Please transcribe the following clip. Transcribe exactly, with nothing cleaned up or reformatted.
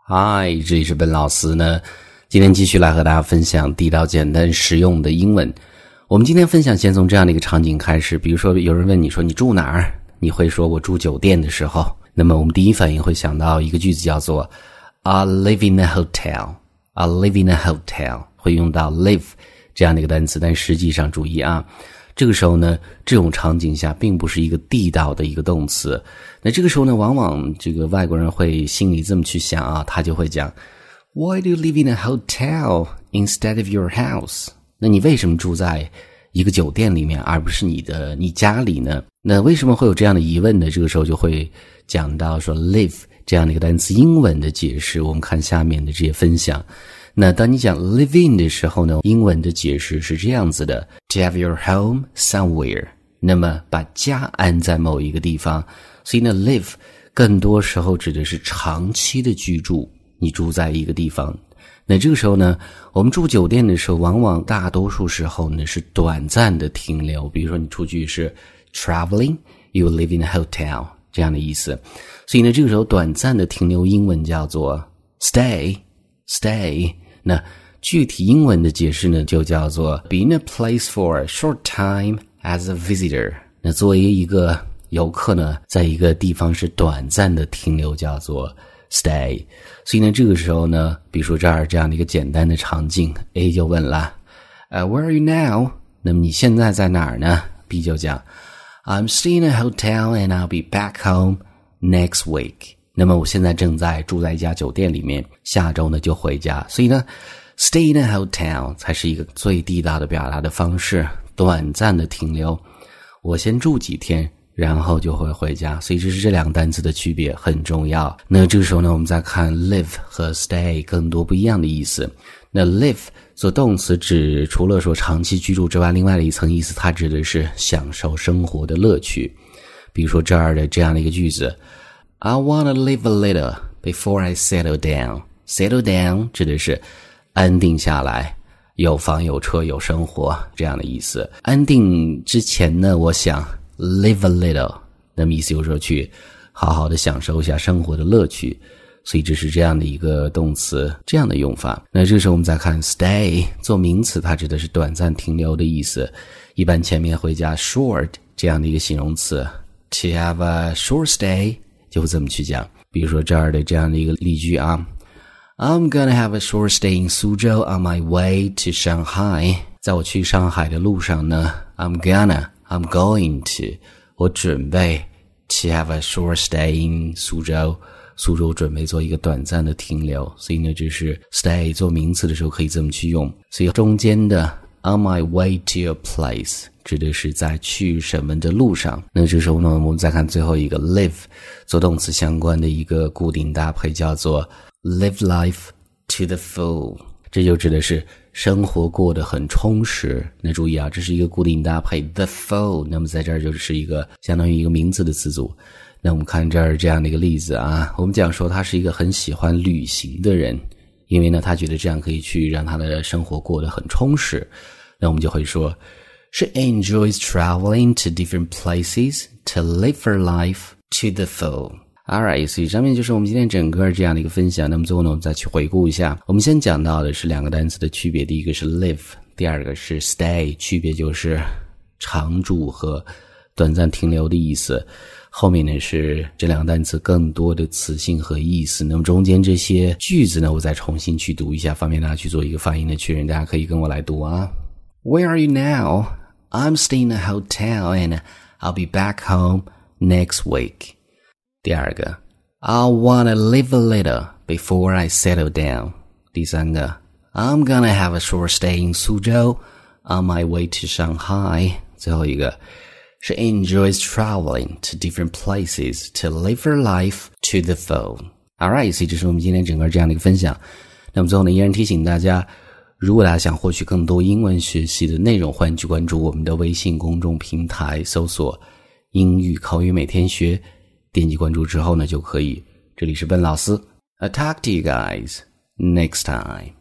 嗨，这里是本老师呢，今天继续来和大家分享地道简单实用的英文。我们今天分享先从这样的一个场景开始，比如说有人问你说你住哪儿，你会说我住酒店的时候，那么我们第一反应会想到一个句子叫做 I live in a hotel I live in a hotel 会用到 live 这样的一个单词，但实际上注意啊，这个时候呢，这种场景下并不是一个地道的一个动词。那这个时候呢，往往这个外国人会心里这么去想啊，他就会讲 Why do you live in a hotel instead of your house？ 那你为什么住在一个酒店里面而不是你的你家里呢？那为什么会有这样的疑问呢？这个时候就会讲到说 live 这样的一个单词英文的解释，我们看下面的这些分享。那当你讲 live in 的时候呢，英文的解释是这样子的 To have your home somewhere， 那么把家安在某一个地方。所以呢 live 更多时候指的是长期的居住，你住在一个地方。那这个时候呢，我们住酒店的时候往往大多数时候呢是短暂的停留，比如说你出去是 traveling you live in a hotel 这样的意思。所以呢这个时候短暂的停留英文叫做 stay stay。那具体英文的解释呢就叫做 be in a place for a short time as a visitor。 那作为一个游客呢，在一个地方是短暂的停留叫做 stay。 所以呢这个时候呢，比如说这儿这样的一个简单的场景， A 就问了、uh, Where are you now？ 那么你现在在哪儿呢？ B 就讲 I'm staying in a hotel and I'll be back home next week。那么我现在正在住在一家酒店里面，下周呢就回家。所以呢 stay in a hotel 才是一个最地道的表达的方式，短暂的停留，我先住几天然后就会回家。所以这是这两个单词的区别，很重要。那这个时候呢，我们再看 live 和 stay 更多不一样的意思。那 live 做动词指除了说长期居住之外，另外的一层意思它指的是享受生活的乐趣。比如说这儿的这样的一个句子I want to live a little before I settle down. Settle down 指的是安定下来，有房有车有生活这样的意思。安定之前呢，我想 live a little， 那么意思就是说去好好的享受一下生活的乐趣。所以这是这样的一个动词，这样的用法。那这个时候我们再看 stay 做名词，它指的是短暂停留的意思，一般前面会加 short 这样的一个形容词。To have a short stay就会这么去讲。比如说这儿的这样的一个例句啊 I'm gonna have a short stay in Suzhou on my way to Shanghai。 在我去上海的路上呢 I'm gonna I'm going to 我准备 to have a short stay in 苏州，苏州准备做一个短暂的停留。所以呢这是 stay 做名词的时候可以这么去用。所以中间的 on my way to a place指的是在去什么的路上。那这时候呢，我们再看最后一个 live 做动词相关的一个固定搭配叫做 live life to the full， 这就指的是生活过得很充实。那注意啊，这是一个固定搭配 the full， 那么在这儿就是一个相当于一个名词的词组。那我们看这儿这样的一个例子啊，我们讲说他是一个很喜欢旅行的人，因为呢他觉得这样可以去让他的生活过得很充实。那我们就会说She enjoys traveling to different places to live her life to the full. Alright, 所以上面就是我们今天整个这样的一个分享。那么最后呢，我们再去回顾一下。我们先讲到的是两个单词的区别，第一个是 live， 第二个是 stay， 区别就是常住和短暂停留的意思。后面呢是这两个单词更多的词性和意思。那么中间这些句子呢，我再重新去读一下，方便大家去做一个发音的确认。大家可以跟我来读啊。Where are you now? I'm staying in a hotel and I'll be back home next week. 第二个 I want to live a little before I settle down. 第三个 I'm gonna have a short stay in Suzhou on my way to Shanghai. 最后一个 She enjoys traveling to different places to live her life to the full. Alright, 所以这是我们今天整个这样的一个分享。那么最后呢，依然提醒大家，如果大家想获取更多英文学习的内容，欢迎去关注我们的微信公众平台，搜索英语口语每天学，点击关注之后呢就可以。这里是笨老师 I talk to you guys next time.